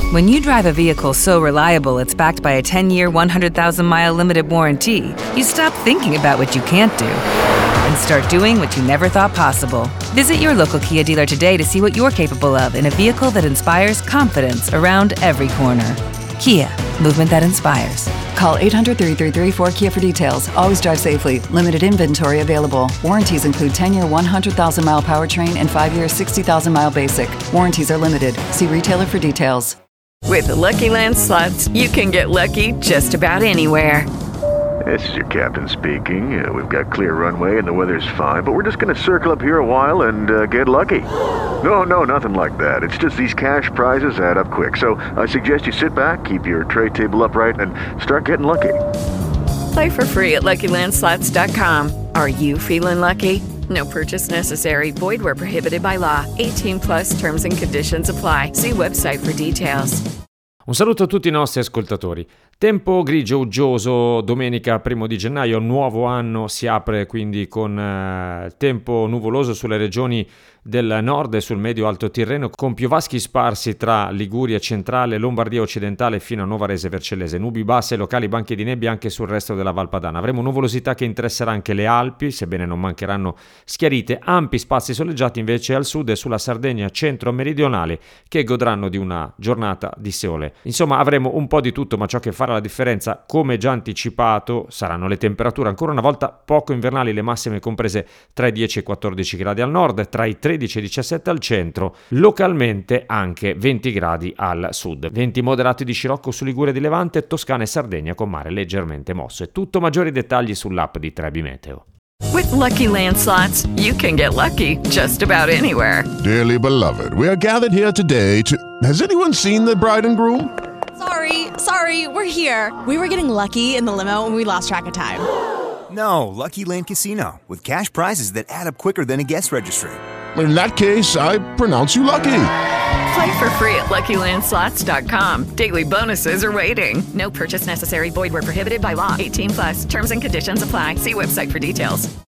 When you drive a vehicle so reliable it's backed by a 10-year, 100,000-mile limited warranty, you stop thinking about what you can't do and start doing what you never thought possible. Visit your local Kia dealer today to see what you're capable of in a vehicle that inspires confidence around every corner. Kia, movement that inspires. Call 800-333-4KIA for details. Always drive safely. Limited inventory available. Warranties include 10-year 100,000-mile powertrain and 5-year 60,000-mile basic. Warranties are limited. See retailer for details. With the Lucky Land Slots, you can get lucky just about anywhere. This is your captain speaking. We've got clear runway and the weather's fine, but we're just going to circle up here a while and get lucky. No, nothing like that. It's just these cash prizes add up quick. So I suggest you sit back, keep your tray table upright, and start getting lucky. Play for free at LuckyLandSlots.com. Are you feeling lucky? No purchase necessary. Void where prohibited by law. 18+ terms and conditions apply. See website for details. Un saluto a tutti i nostri ascoltatori. Tempo grigio, uggioso, domenica 1 di gennaio, nuovo anno, si apre quindi con tempo nuvoloso sulle regioni del nord e sul medio-alto Tirreno, con piovaschi sparsi tra Liguria centrale, Lombardia occidentale fino a Nuova Rese Vercellese, nubi basse e locali banchi di nebbia anche sul resto della Val Padana. Avremo nuvolosità che interesserà anche le Alpi, sebbene non mancheranno schiarite, ampi spazi soleggiati invece al sud e sulla Sardegna centro-meridionale che godranno di una giornata di sole. Insomma, avremo un po' di tutto, ma ciò che farà la differenza, come già anticipato, saranno le temperature. Ancora una volta poco invernali, le massime comprese tra i 10 e i 14 gradi al nord, tra i 13 e i 17 al centro, localmente anche 20 gradi al sud. Venti moderati di scirocco su Liguria di Levante, Toscana e Sardegna con mare leggermente mosso. E tutto, maggiori dettagli sull'app di Trebi Meteo. With Lucky Land Slots, you can get lucky just about anywhere. Dearly beloved, we are gathered here today to... Has anyone seen the bride and groom? Sorry, we're here. We were getting lucky in the limo and we lost track of time. No, Lucky Land Casino, with cash prizes that add up quicker than a guest registry. In that case, I pronounce you lucky. Play for free at LuckyLandSlots.com. Daily bonuses are waiting. No purchase necessary. Void where prohibited by law. 18+. Terms and conditions apply. See website for details.